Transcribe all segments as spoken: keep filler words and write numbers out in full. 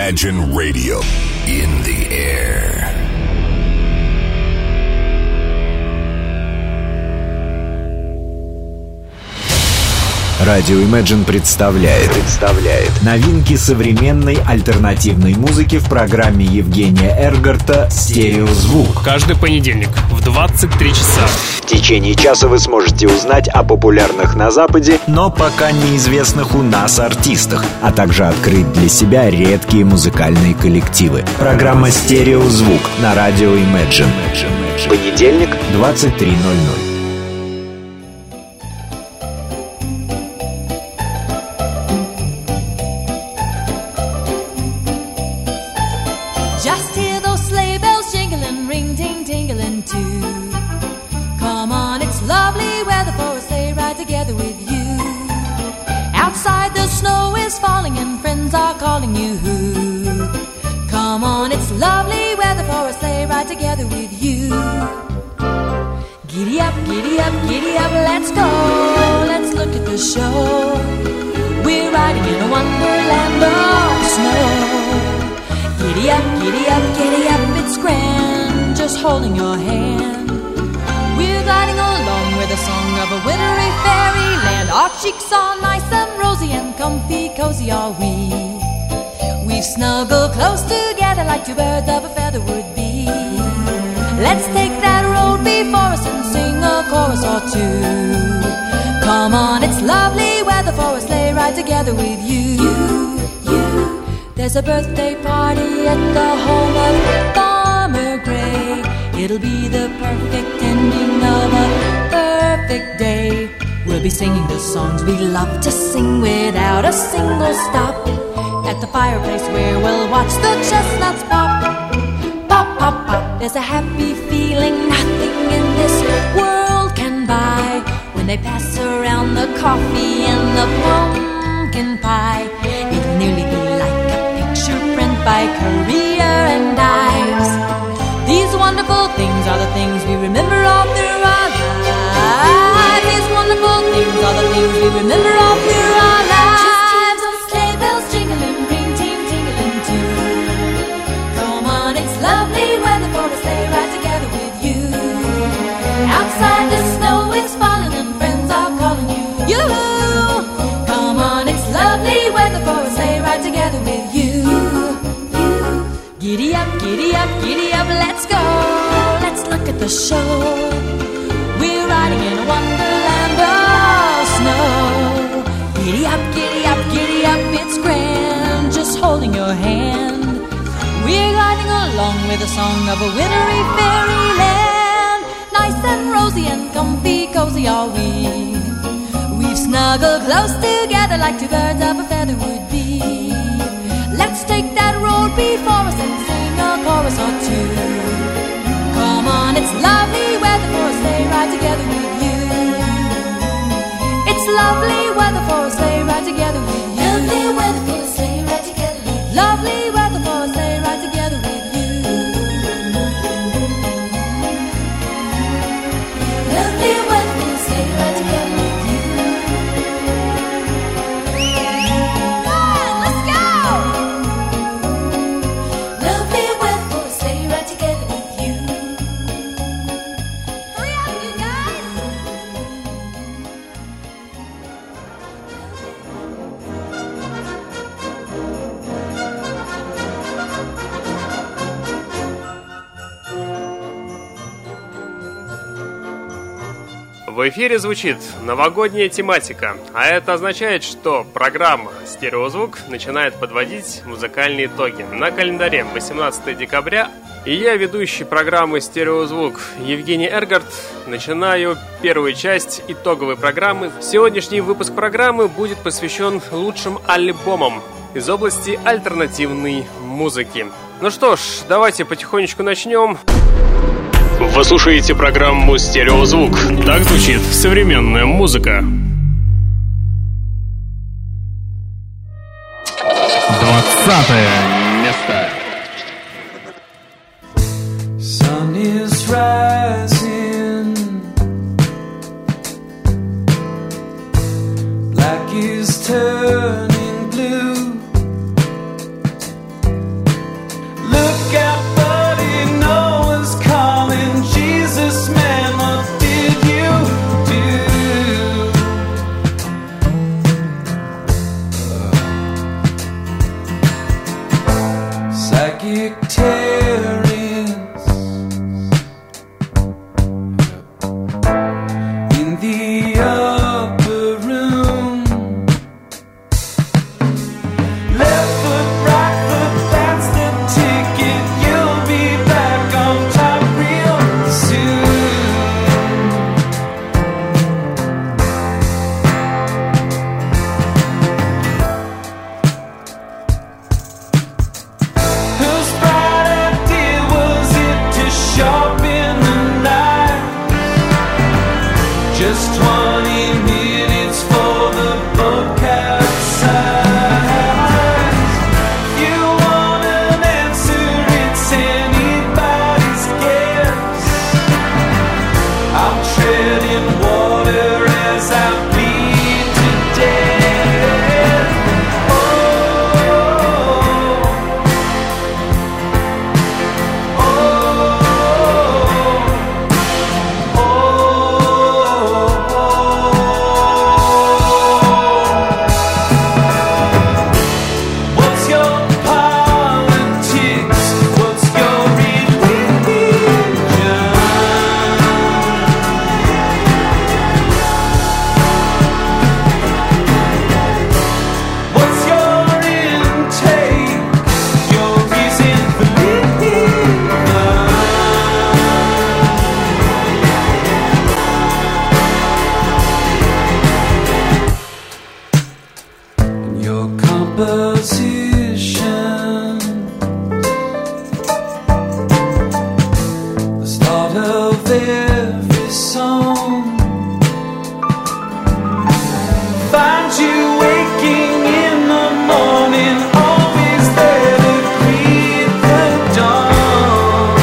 Imagine Radio in the air. Радио Imagine представляет, представляет новинки современной альтернативной музыки в программе Евгения Эргарта «Стереозвук». Каждый понедельник в двадцать три часа. В течение часа вы сможете узнать о популярных на Западе, но пока неизвестных у нас артистах, а также открыть для себя редкие музыкальные коллективы. Программа «Стереозвук» на радио Imagine. Понедельник, двадцать три ноль ноль. Falling and friends are calling you. Come on, it's lovely weather for a sleigh ride together with you. Giddy up, giddy up, giddy up, let's go. Let's look at the show. We're riding in a wonderland of snow. Giddy up, giddy up, giddy up, it's grand, just holding your hand. We're gliding along with the song of a wintry fairyland. Our cheeks are nice and rosy and comfy, cozy are we. We've snuggled close together like two birds of a feather would be. Let's take that road before us and sing a chorus or two. Come on, it's lovely weather for a sleigh ride together with you. You, you. There's a birthday party at the home of Farmer Gray. It'll be the perfect ending of a perfect day. We'll be singing the songs we love to sing without a single stop. At the fireplace where we'll watch the chestnuts pop. Pop, pop, pop. There's a happy feeling nothing in this world can buy. When they pass around the coffee and the pumpkin pie, it'll nearly be like a picture print by Currier and Ives. These wonderful things are the things we remember all through our lives. These wonderful things are the things we remember all through our lives. Just hear those sleigh bells jingling, ring, ting, tingling too. Come on, it's lovely weather for a sleigh ride together with you. Outside the snow is falling and friends are calling you. You. Come on, it's lovely weather for a sleigh ride together with you. Giddy up, giddy up, giddy up, let's go. Let's look at the show. We're riding in a wonderland of snow. Giddy up, giddy up, giddy up, it's grand, just holding your hand. We're gliding along with the song of a wintry fairyland. Nice and rosy and comfy, cozy are we. We've snuggled close together like two birds of a feather would be. Let's take that road before us and sing a chorus or two. Come on, it's lovely weather for a sleigh ride together with you. It's lovely weather for a sleigh ride together with you. Lovely weather for a sleigh ride together with you. Lovely weather for a sleigh ride together with you. Lovely weather for a sleigh ride together with you. В эфире звучит новогодняя тематика, а это означает, что программа «Стереозвук» начинает подводить музыкальные итоги. На календаре восемнадцатое декабря, и я, ведущий программы «Стереозвук» Евгений Эргарт, начинаю первую часть итоговой программы. Сегодняшний выпуск программы будет посвящен лучшим альбомам из области альтернативной музыки. Ну что ж, давайте потихонечку начнем. Вы слушаете программу «Стереозвук». Так звучит современная музыка. Двадцатое место. Sun is rising, black is turning blue. businessman, what did you do? Sagittarius in the upper room. Left foot, right foot, that's the ticket. You'll be back on top real soon. Whose bright idea was it to sharpen the knife? Just twenty minutes for the boat capsize. You want an answer, it's anybody's guess. I'm treading water as I bleed to death. Oh, what's your politics? What's your religion? What's your intake? Your reason for living? And your composition, the start of every song, find you waking in the morning, always there to greet the dawn.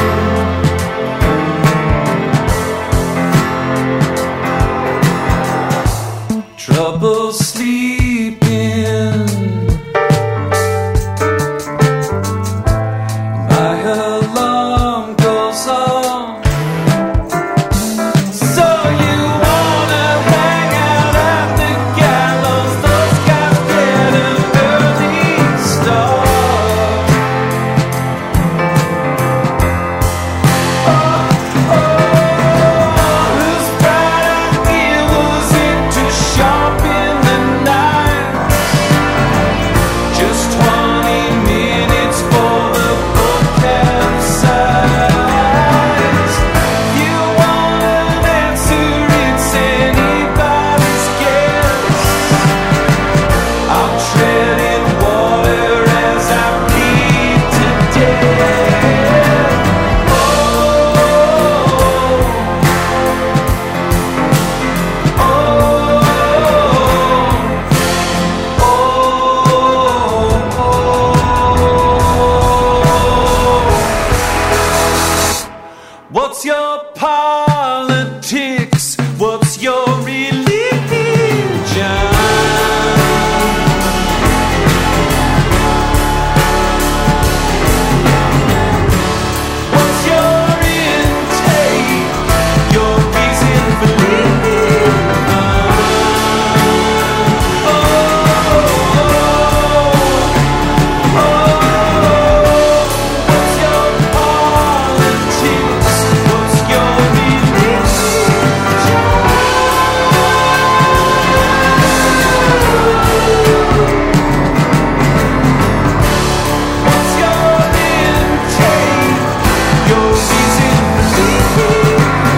Trouble sleeping, my alarm goes off. So you wanna hang out at the gallows? Those guys get an early start. Oh, oh, whose bright idea was it to sharpen the knife? Just twenty minutes for the boat capsize. You want an answer, it's anybody's guess. I'm treading water as I bleed to death. Oh, oh, what's your politics? What's your religion? What's your intake? Your reason for living? Oh, what's your politics? What's your religion? What's your intake? Your reason for living?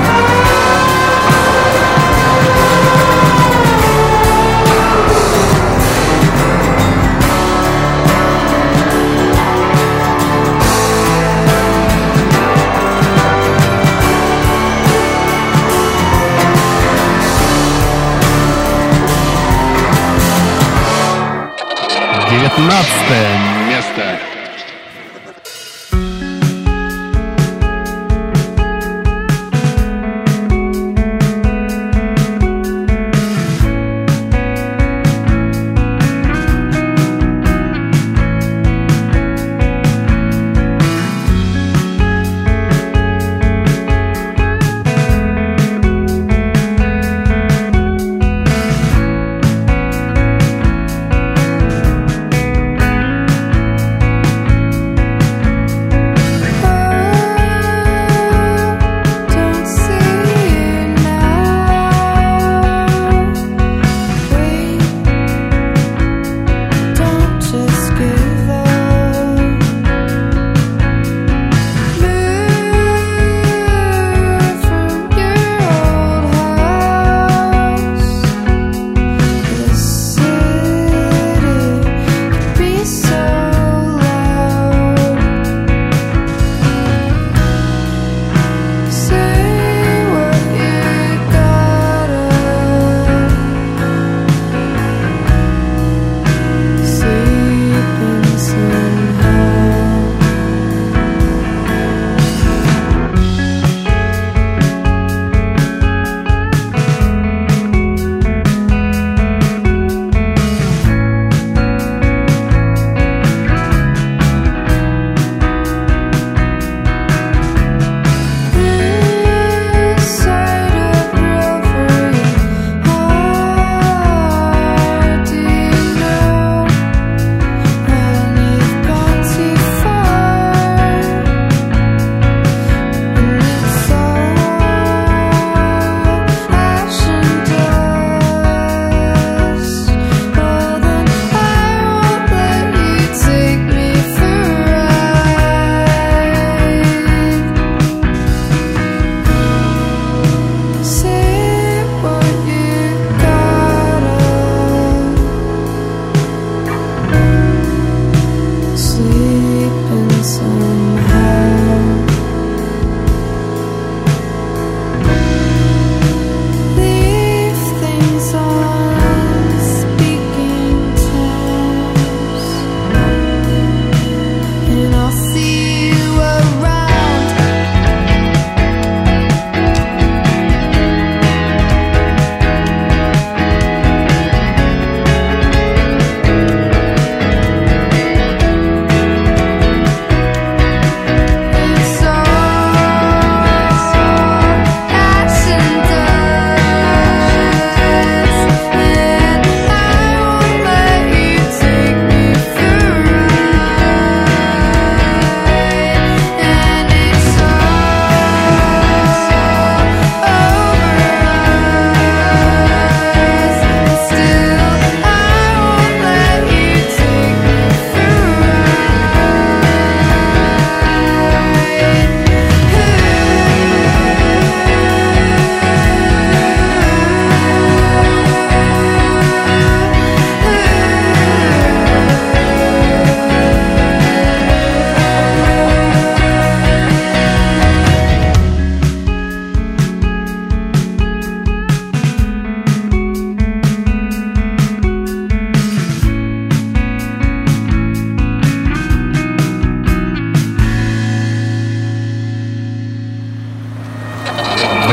девятнадцатое место.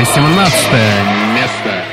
восемнадцатое место.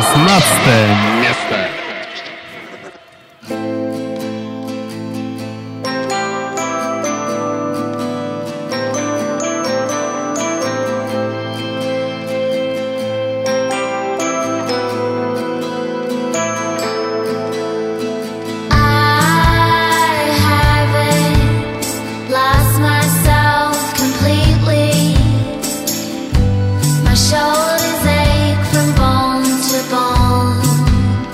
шестнадцатое место. Shoulders ache from bone to bone.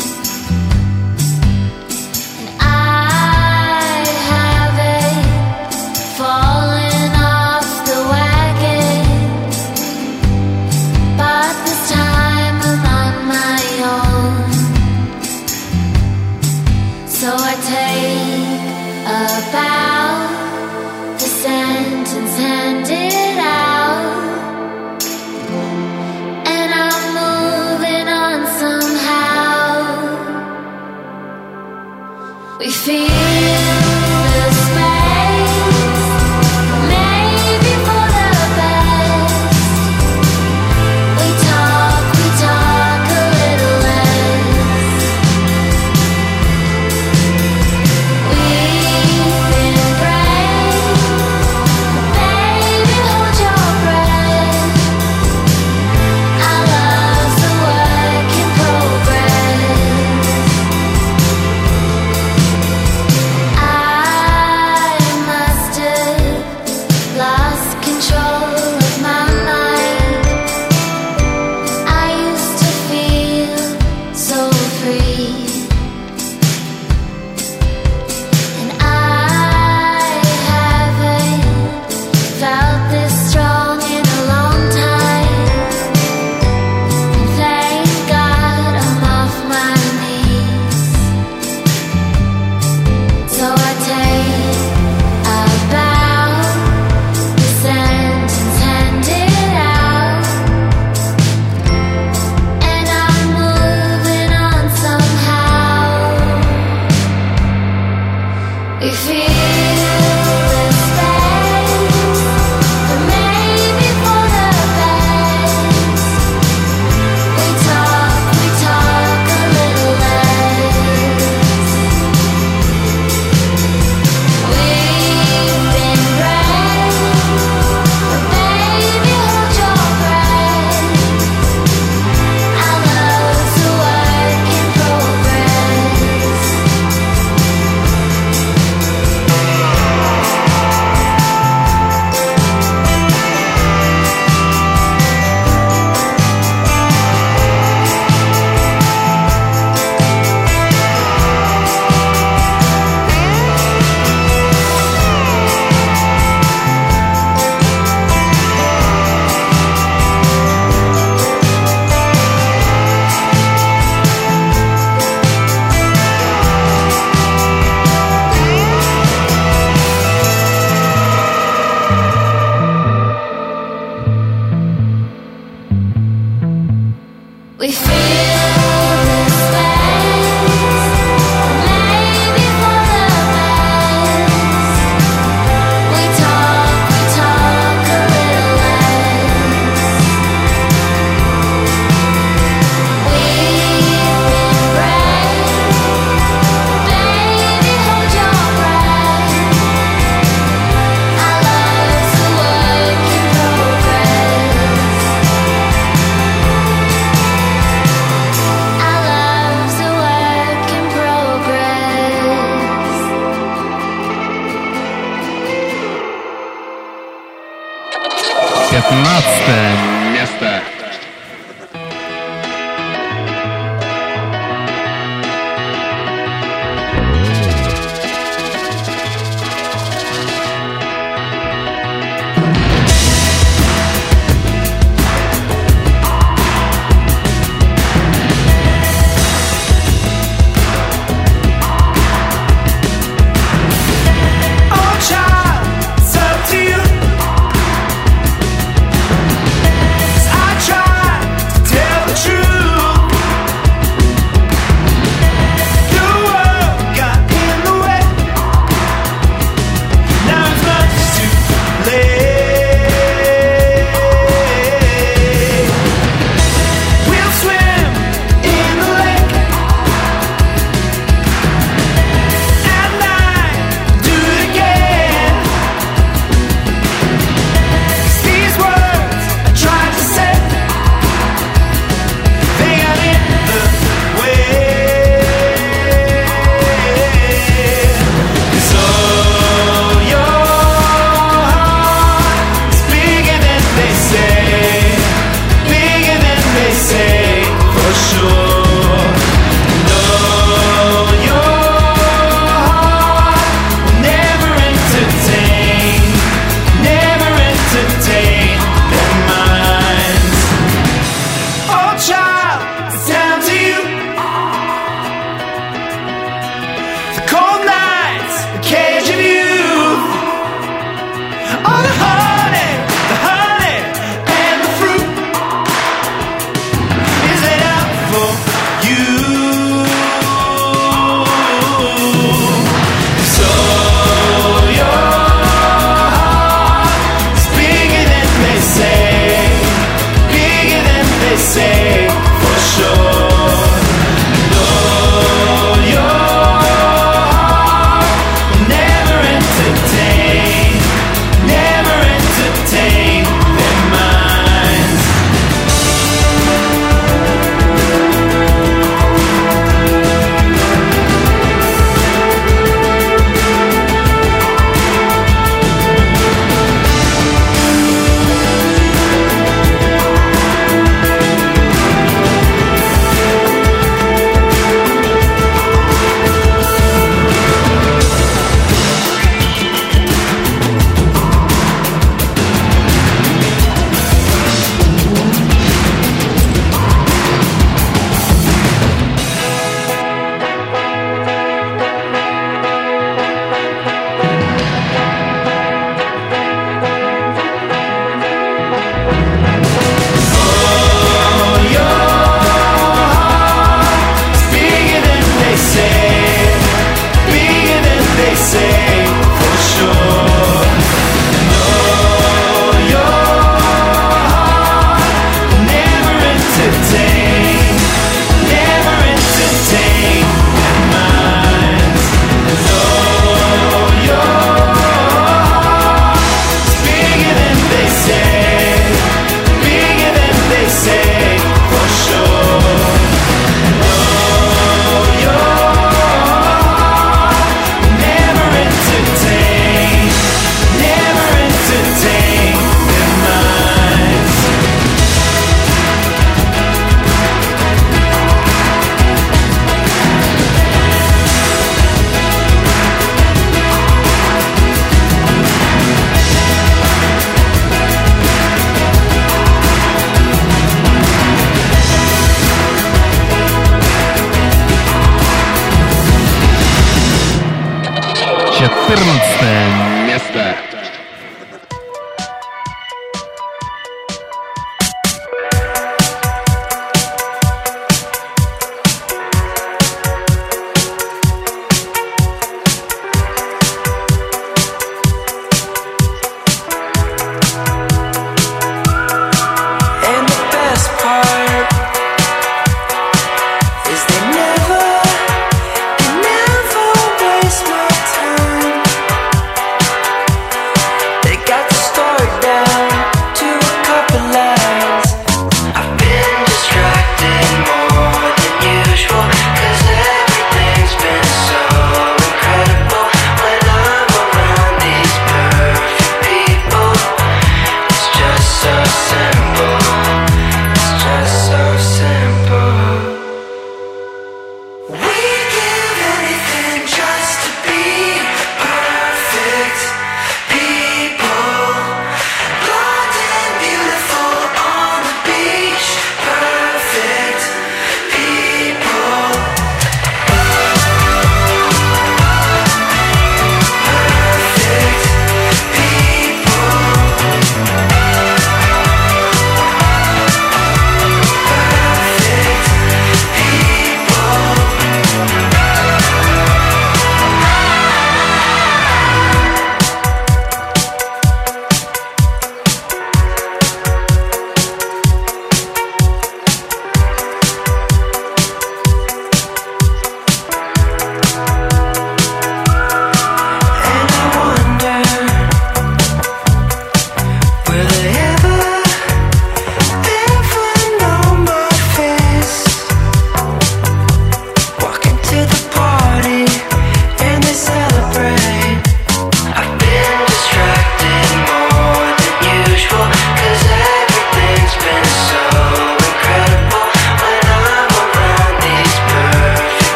пятнадцатое место. I try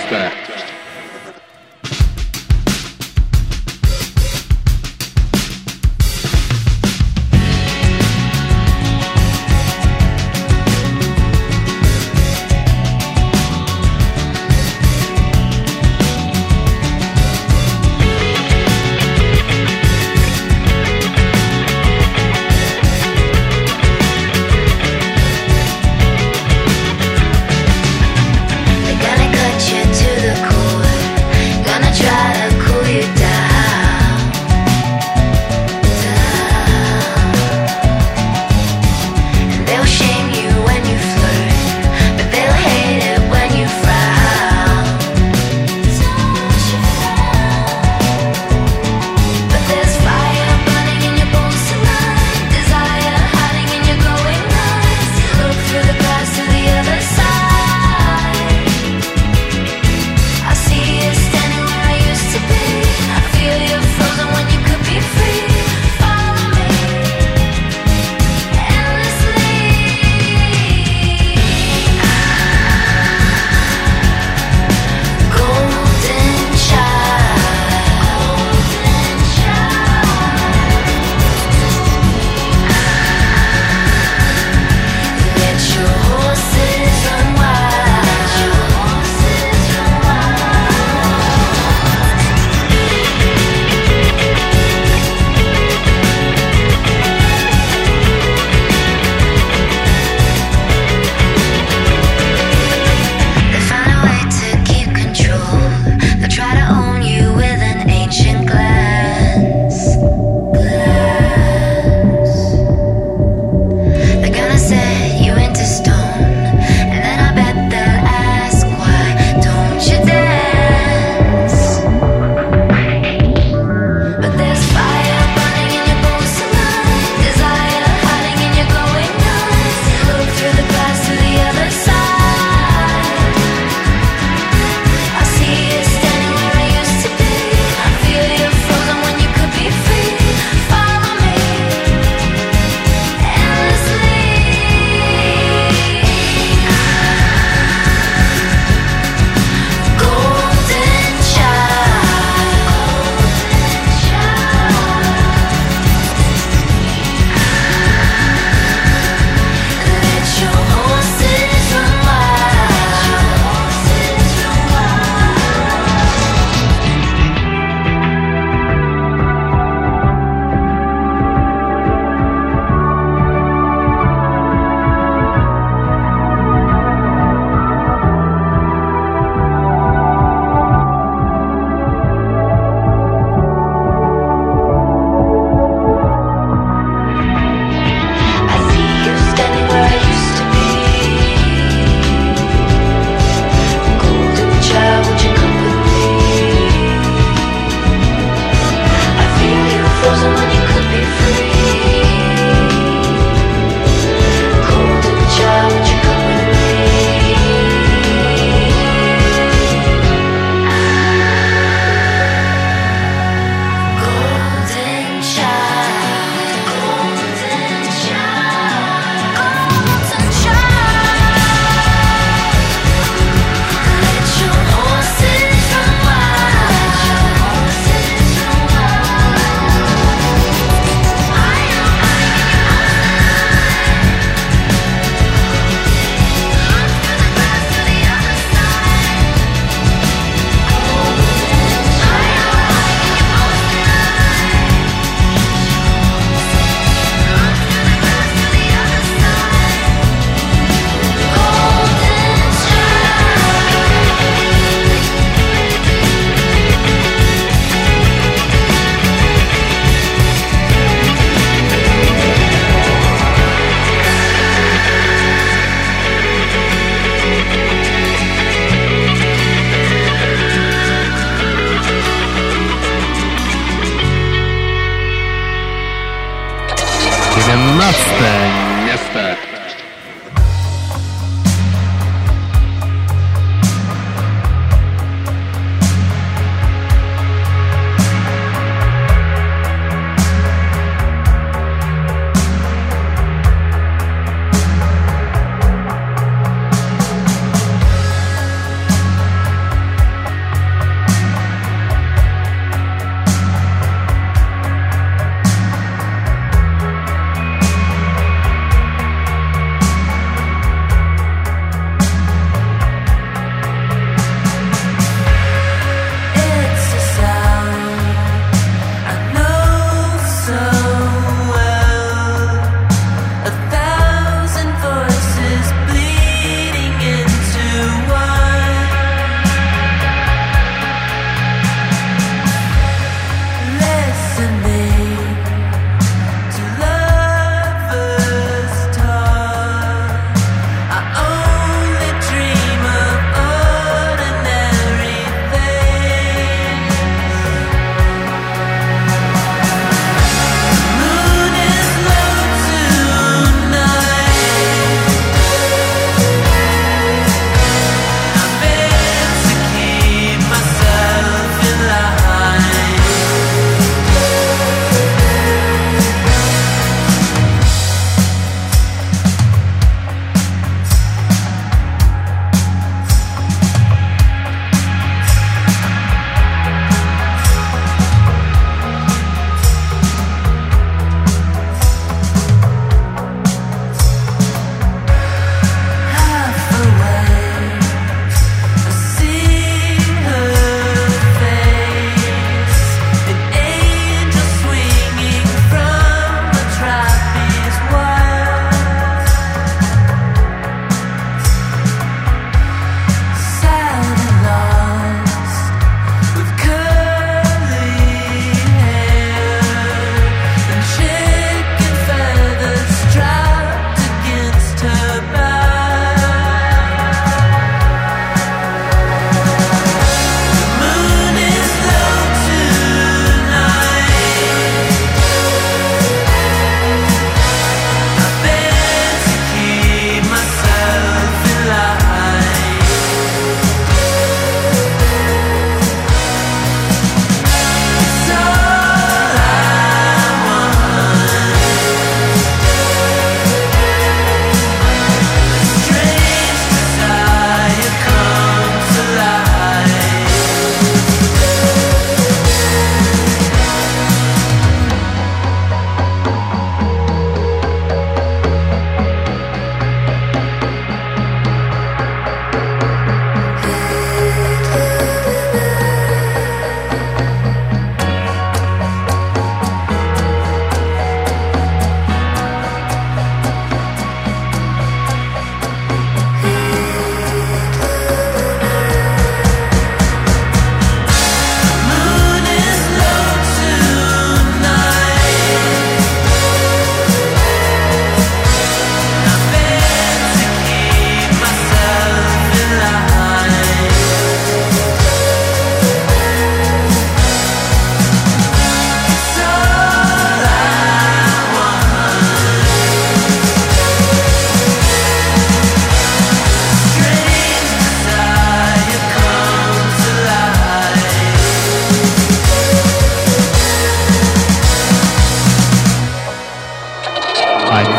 место. They're gonna cut you to the core.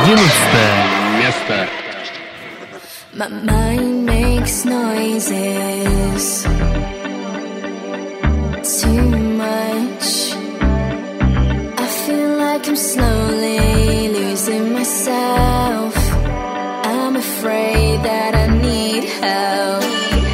Одиннадцатое место. My mind makes noises too much. I feel like I'm slowly losing myself. I'm afraid that I need help.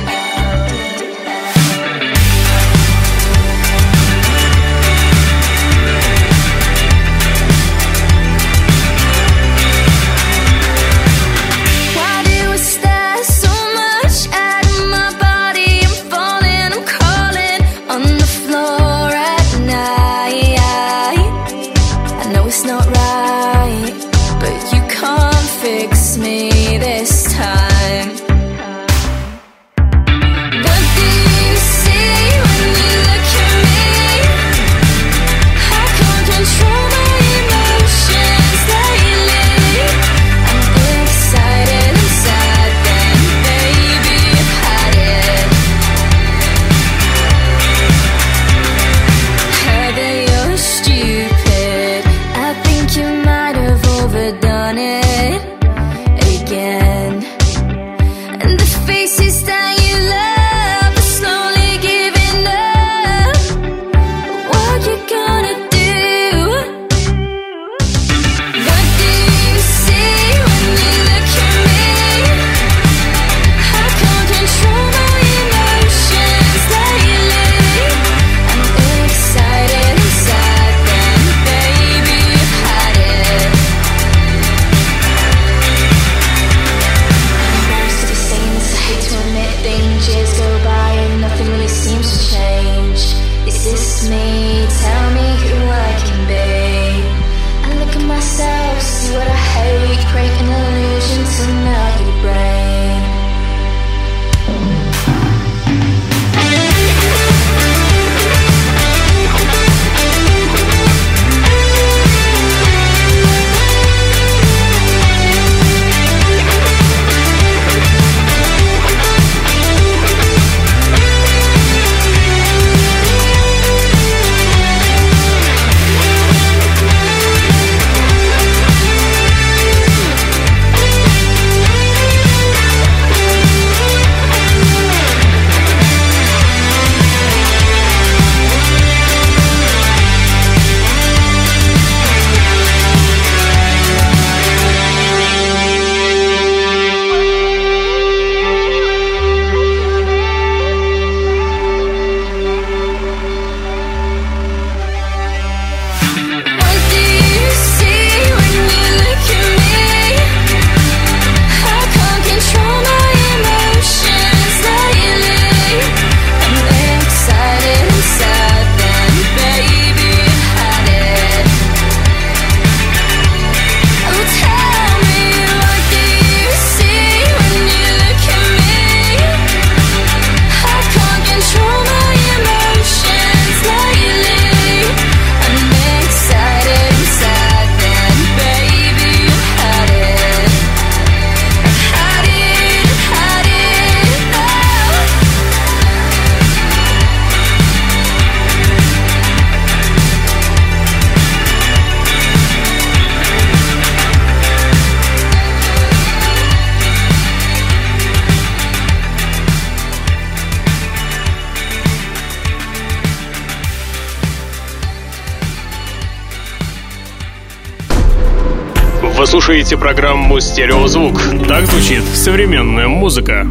Вы слушаете программу «Стереозвук». Так звучит современная музыка.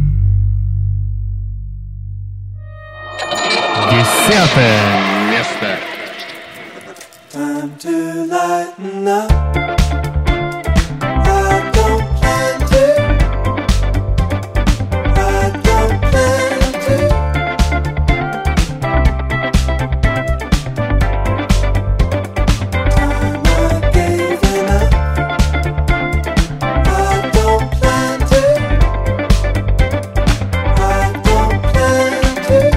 Десятое место. Time to lighten up. I don't plan to. I don't plan to. Time I gave enough. I don't plan to. I don't plan to.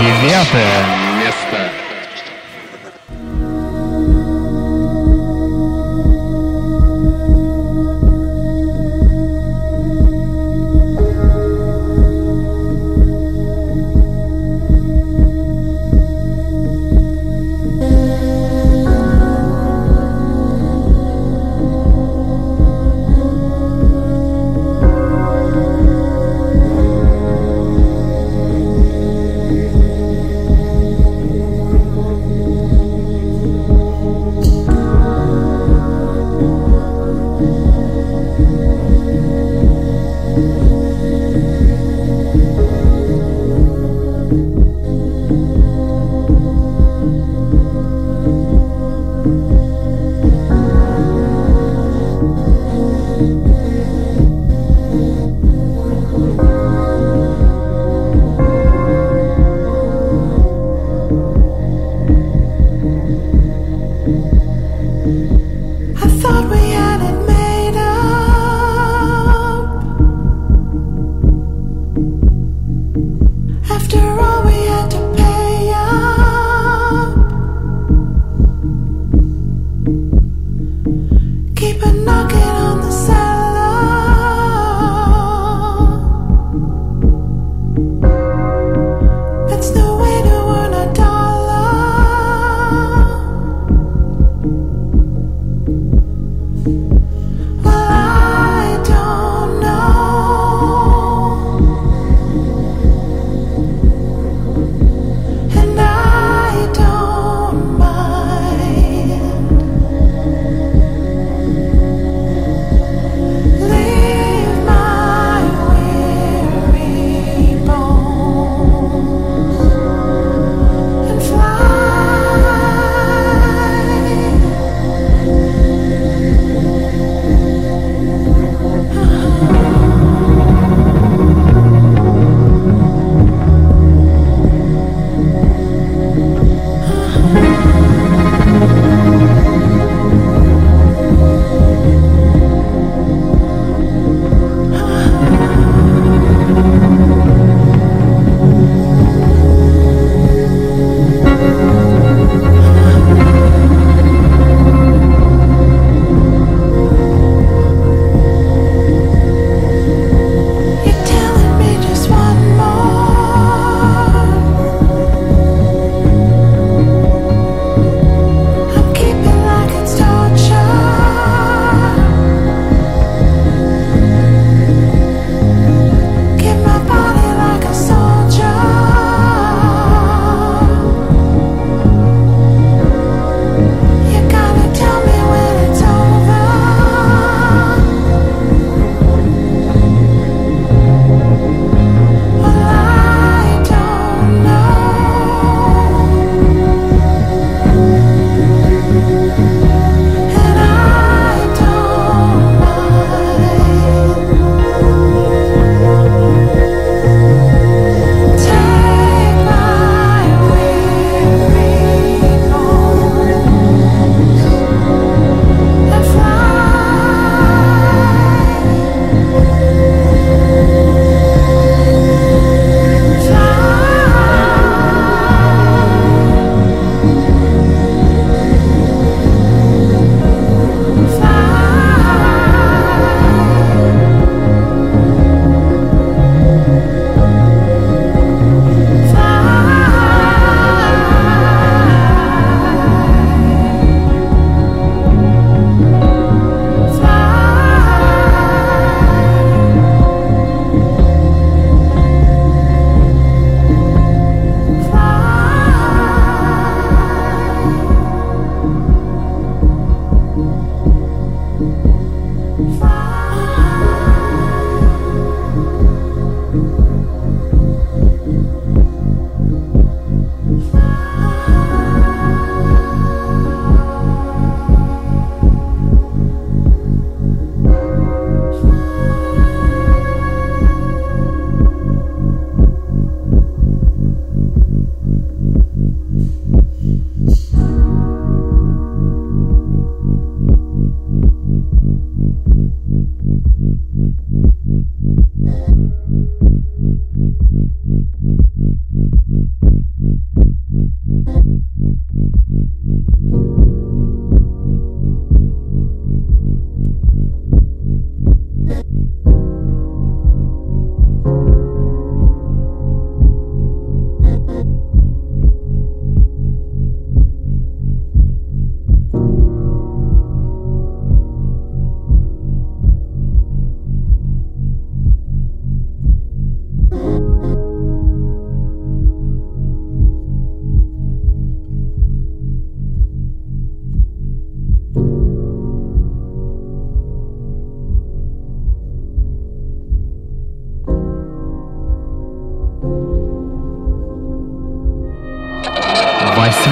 Девятое место. Thank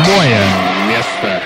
Седьмое место.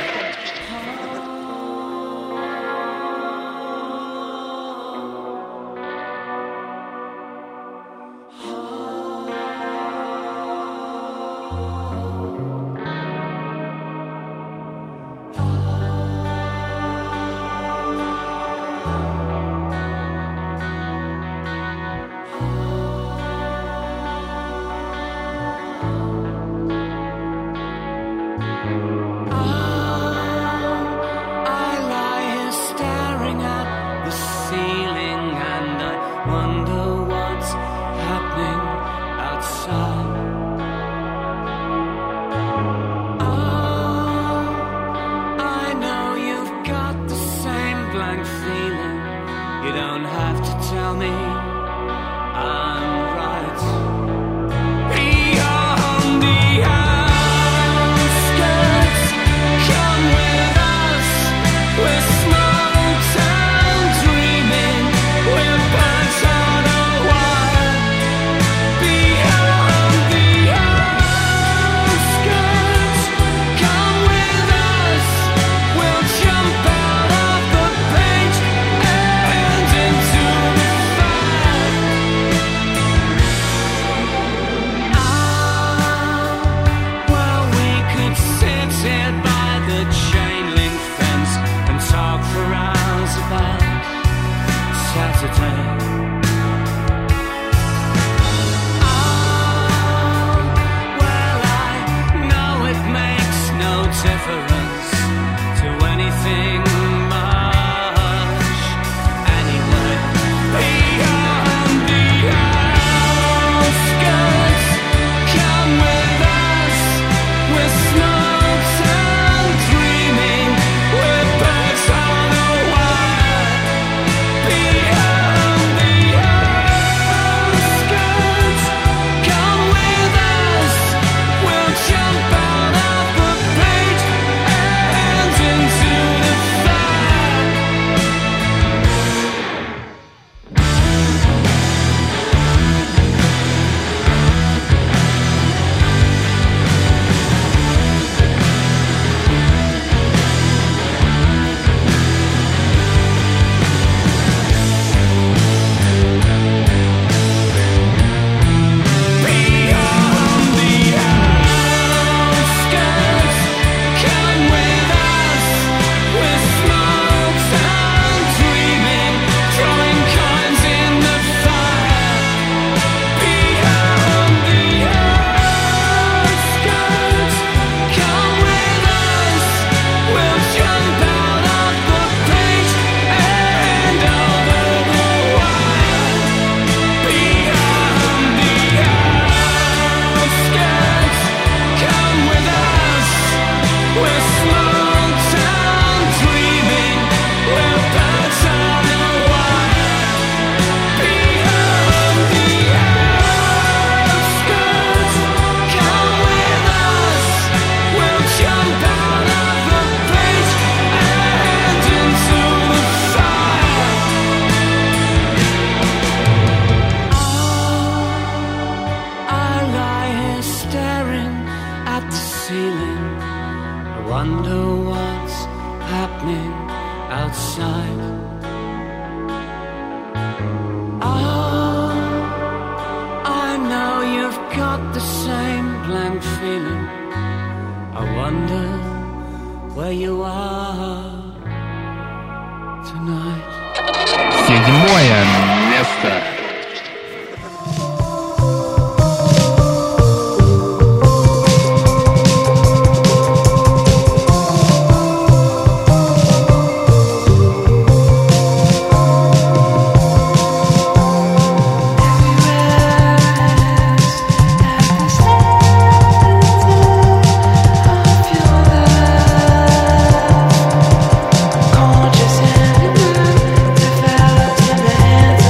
Седьмое место. Gorgeous and developed in the hands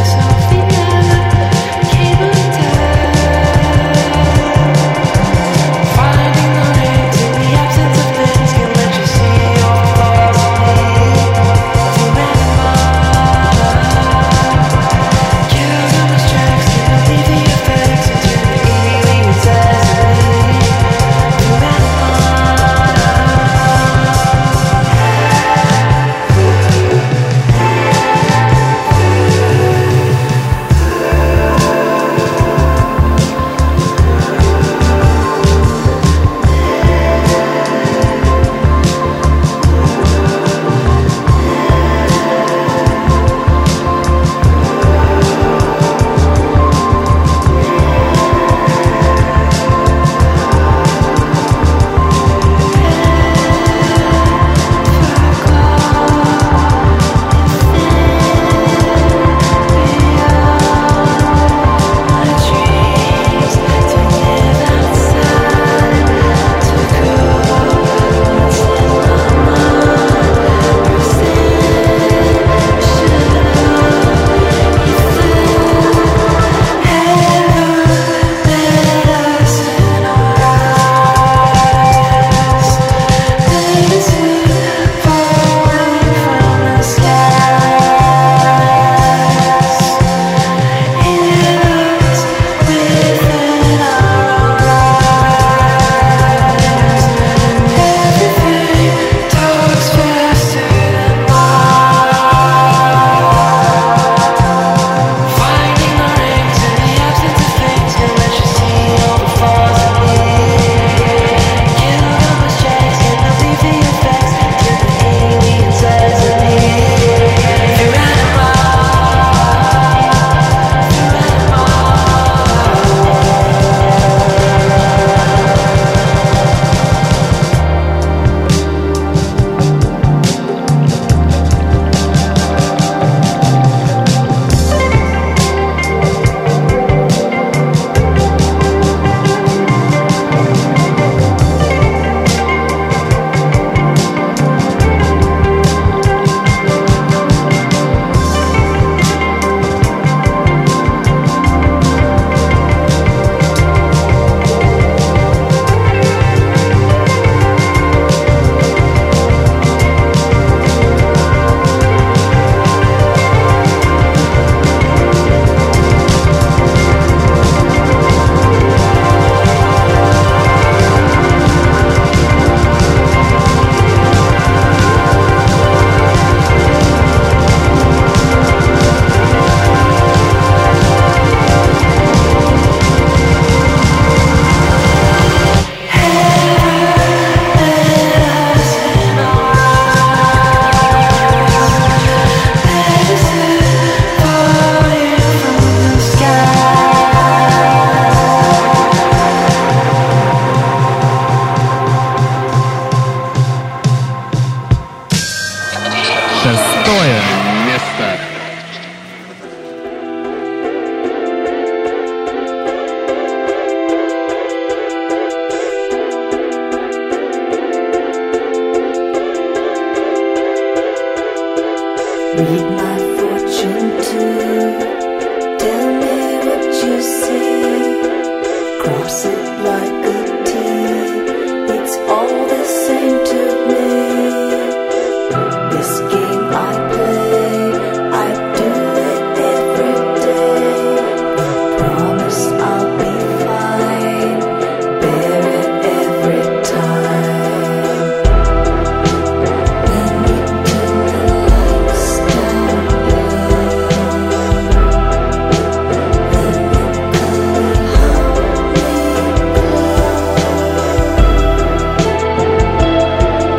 Read my fortune too. Tell me what you see. Cross it like a T. It's all the same to me. This game I play, I do it every day. Promise I'll be fine. Bear it every time. When you turn the lights down low, then you could hold me close.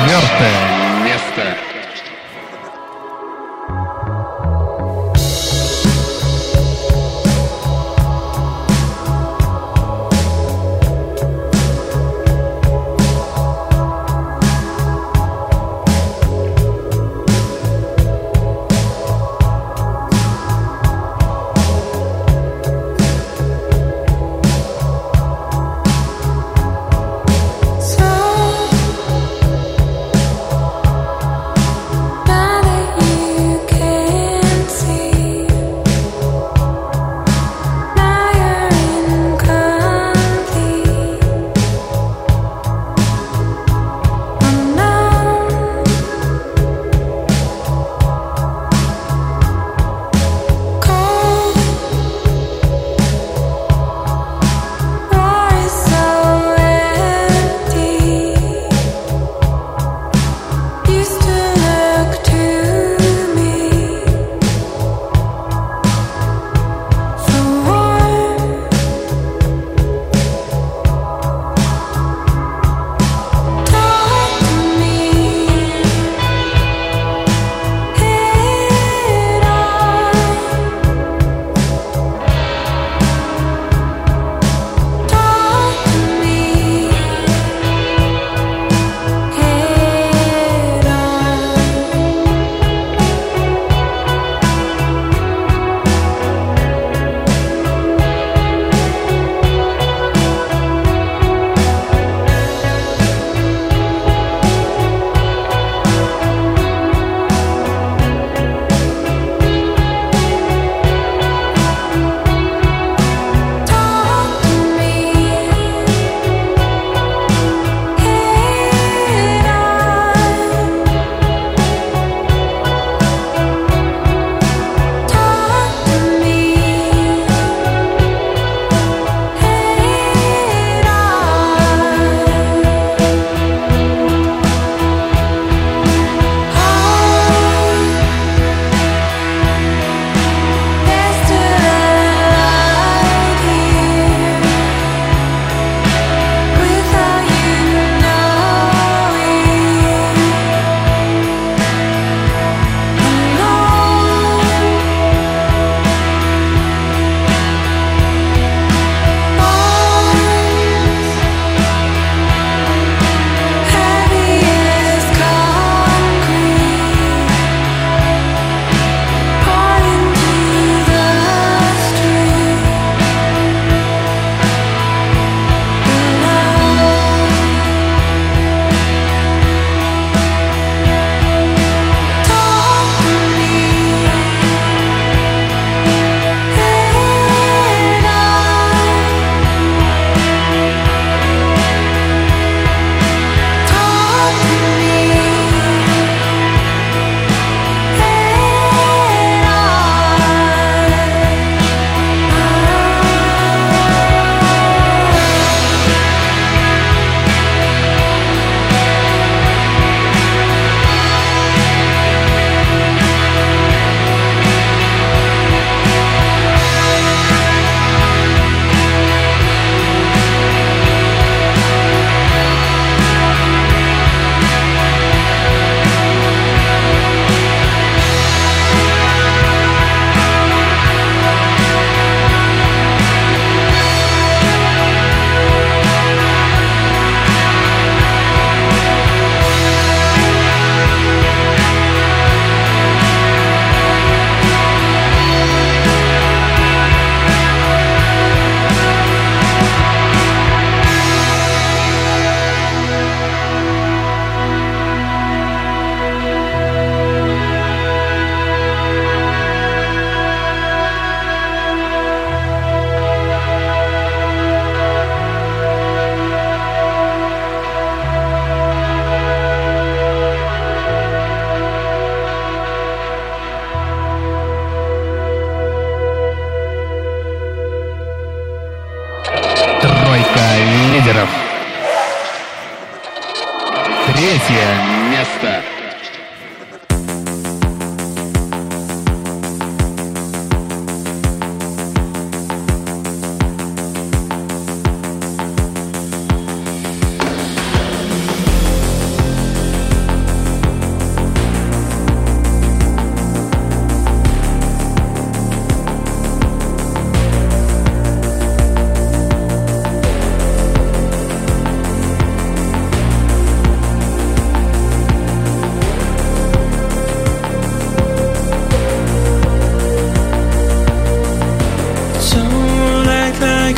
четвертое место. лидеров. Третье место.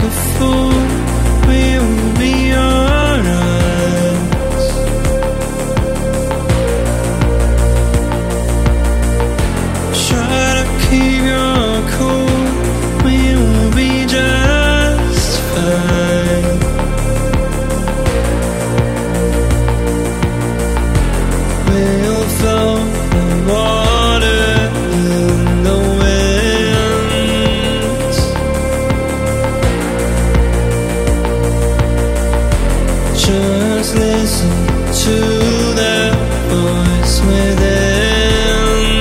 a fool, we will be alright. Try to keep your cool, we will be just fine. We'll float the water in the winds. Just listen to that voice within.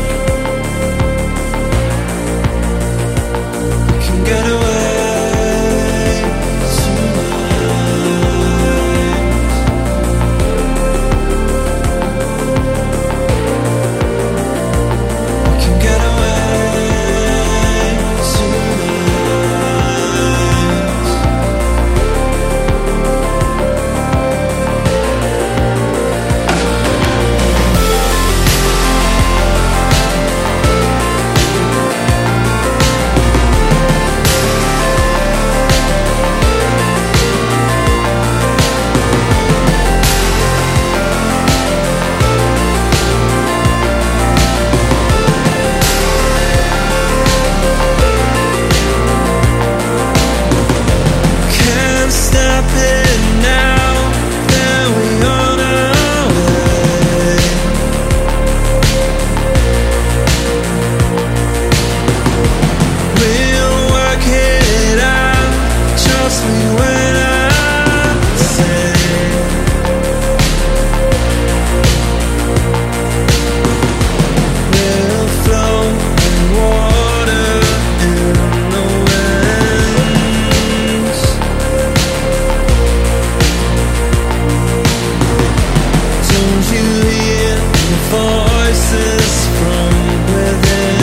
We can get away tonight. We can get away tonight. Can't stop it now that we on our way. We'll work it out. Trust me when I say we'll float in water in the winds. Don't you hear the voices from within?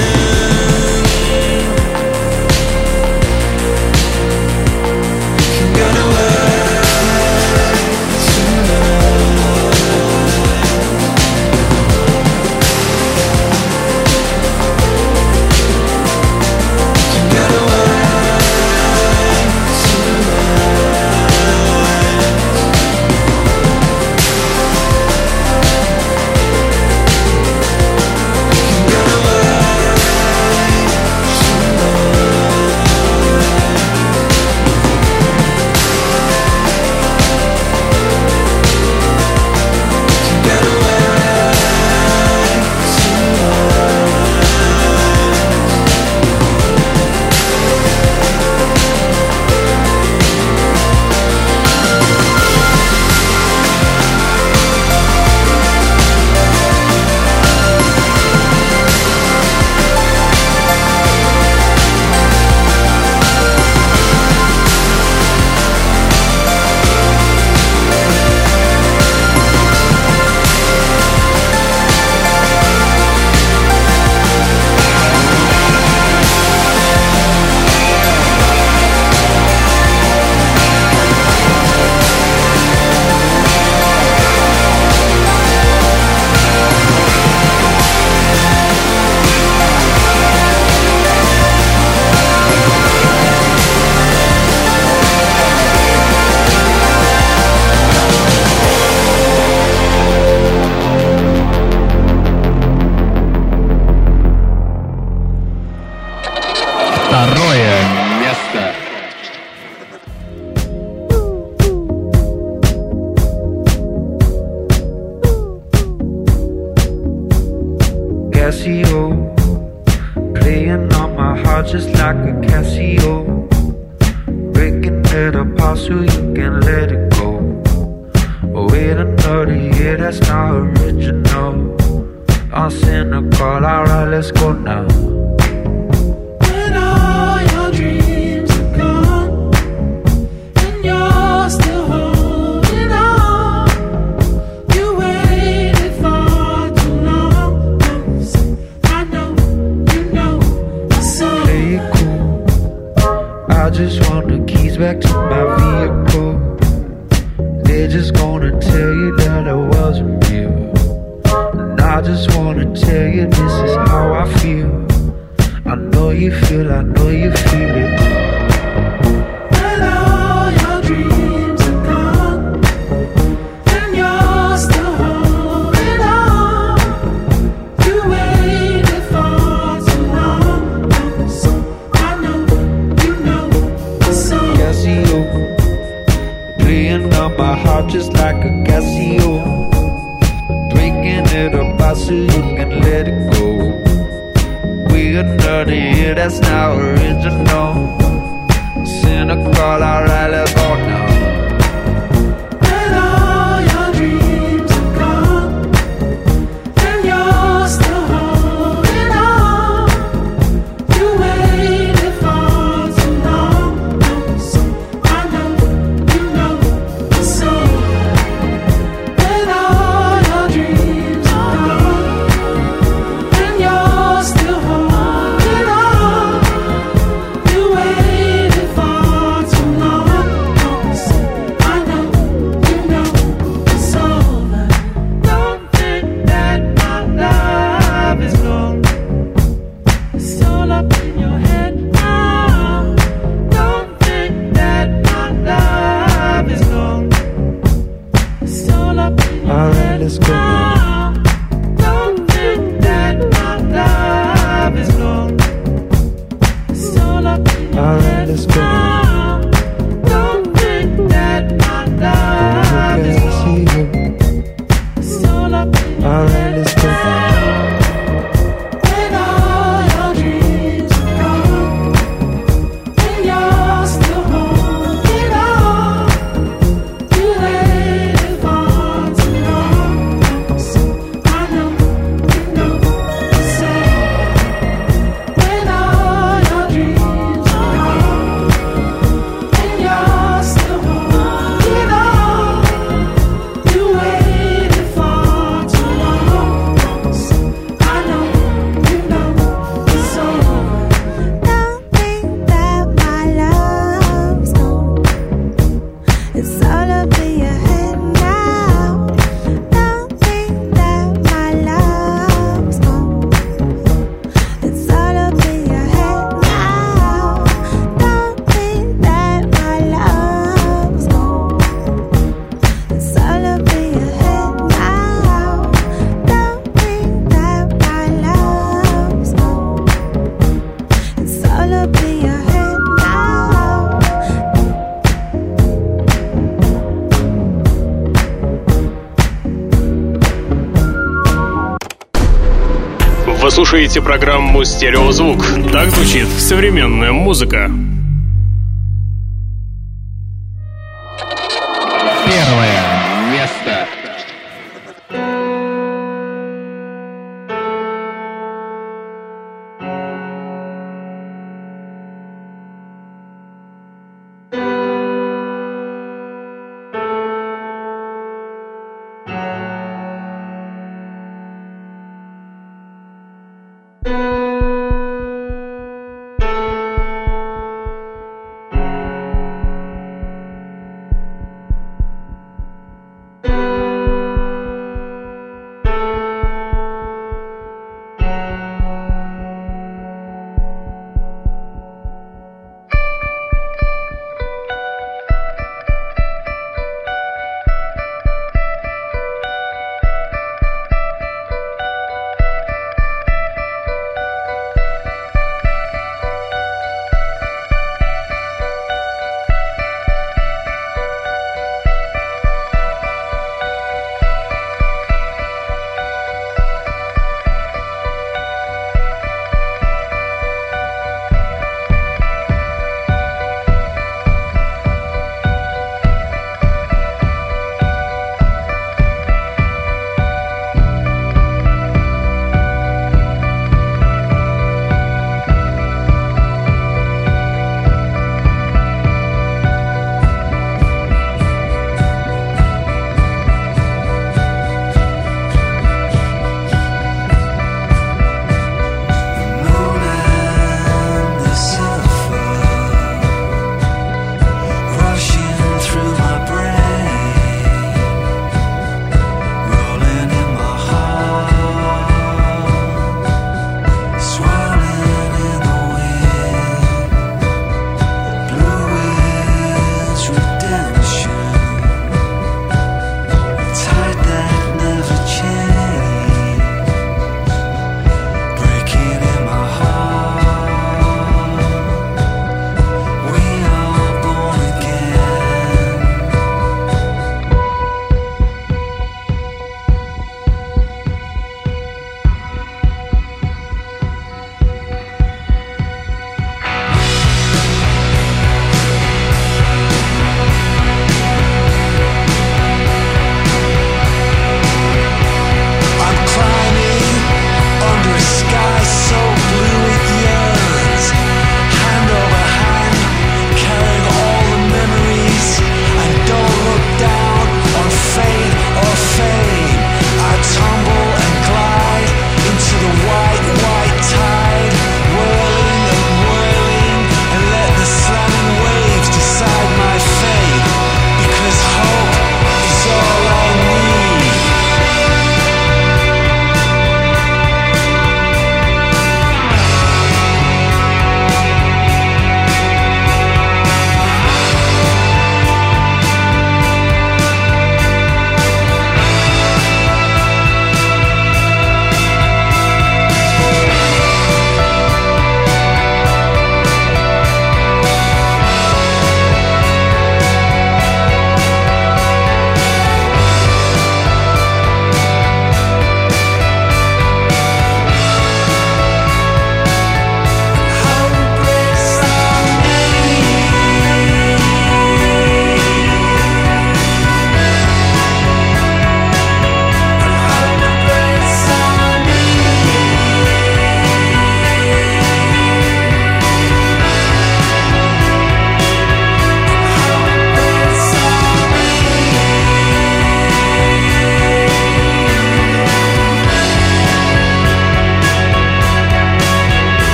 We can get away tonight. We can get away tonight. We can get away Второе место. Casio, playing on my heart just like a Casio, breaking it apart so you can let it go. Oh, wait another year, that's not original. I'm cynical, alright, let's go now. When all your dreams are gone and you're still holding on, you waited for too long. Don't say I know, you know, I saw. Play it cool. I just want the keys back to my vehicle. They're just gonna tell you that I wasn't real. And I just wanna tell you this is how I feel. I know you feel, I know you feel it. that's not original. Cynical, I rarely vote now. And all your dreams are gone, and you're still holding on. You waited for too long. So I know, you know it's over. And all your dreams are gone, and you're still holding on. You waited for too long. So I know, you know it's over. Don't think that my love is gone. It's all up in your head now. Don't think that my love is gone. It's all up in your Alright, head let's go now. Don't think that my love is gone. It's all up in your Alright, head let's go now. Don't think that my love is gone. It's all up in your Alright, head let's go. now. And all your dreams are gone, and you're still holding on. You waited for too long. So I know, you know it's over. And all your dreams are gone, and you're still holding on. You waited for too long. So I know, you know it's over. Don't think that my love's gone. It's all up in your head now. Don't think that my love's gone. It's all up in your head now. Don't think that my love's gone. It's all up in your head now. Don't think that my love's gone. It's all up in your head now. Вы слушаете программу «Стереозвук». Так звучит современная музыка. Первое место.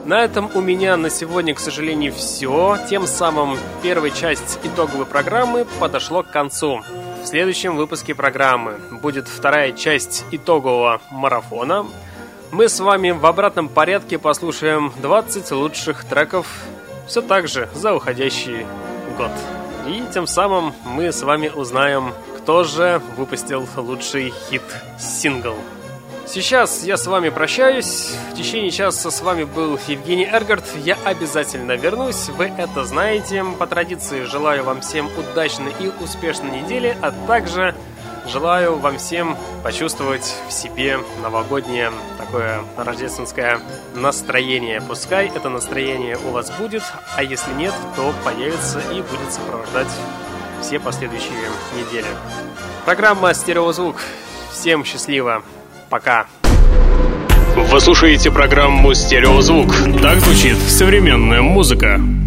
На этом у меня на сегодня, к сожалению, все. Тем самым первая часть итоговой программы подошла к концу. В следующем выпуске программы будет вторая часть итогового марафона. Мы с вами в обратном порядке послушаем двадцать лучших треков все так же за уходящий год. И тем самым мы с вами узнаем, кто же выпустил лучший хит-сингл. Сейчас я с вами прощаюсь. В течение часа с вами был Евгений Эргард. Я обязательно вернусь, вы это знаете. По традиции желаю вам всем удачной и успешной недели, а также желаю вам всем почувствовать в себе новогоднее такое рождественское настроение. Пускай это настроение у вас будет, а если нет, то появится и будет сопровождать все последующие недели. Программа «Стереозвук». Всем счастливо. Пока. Вы слушаете программу «Стереозвук». Так звучит современная музыка.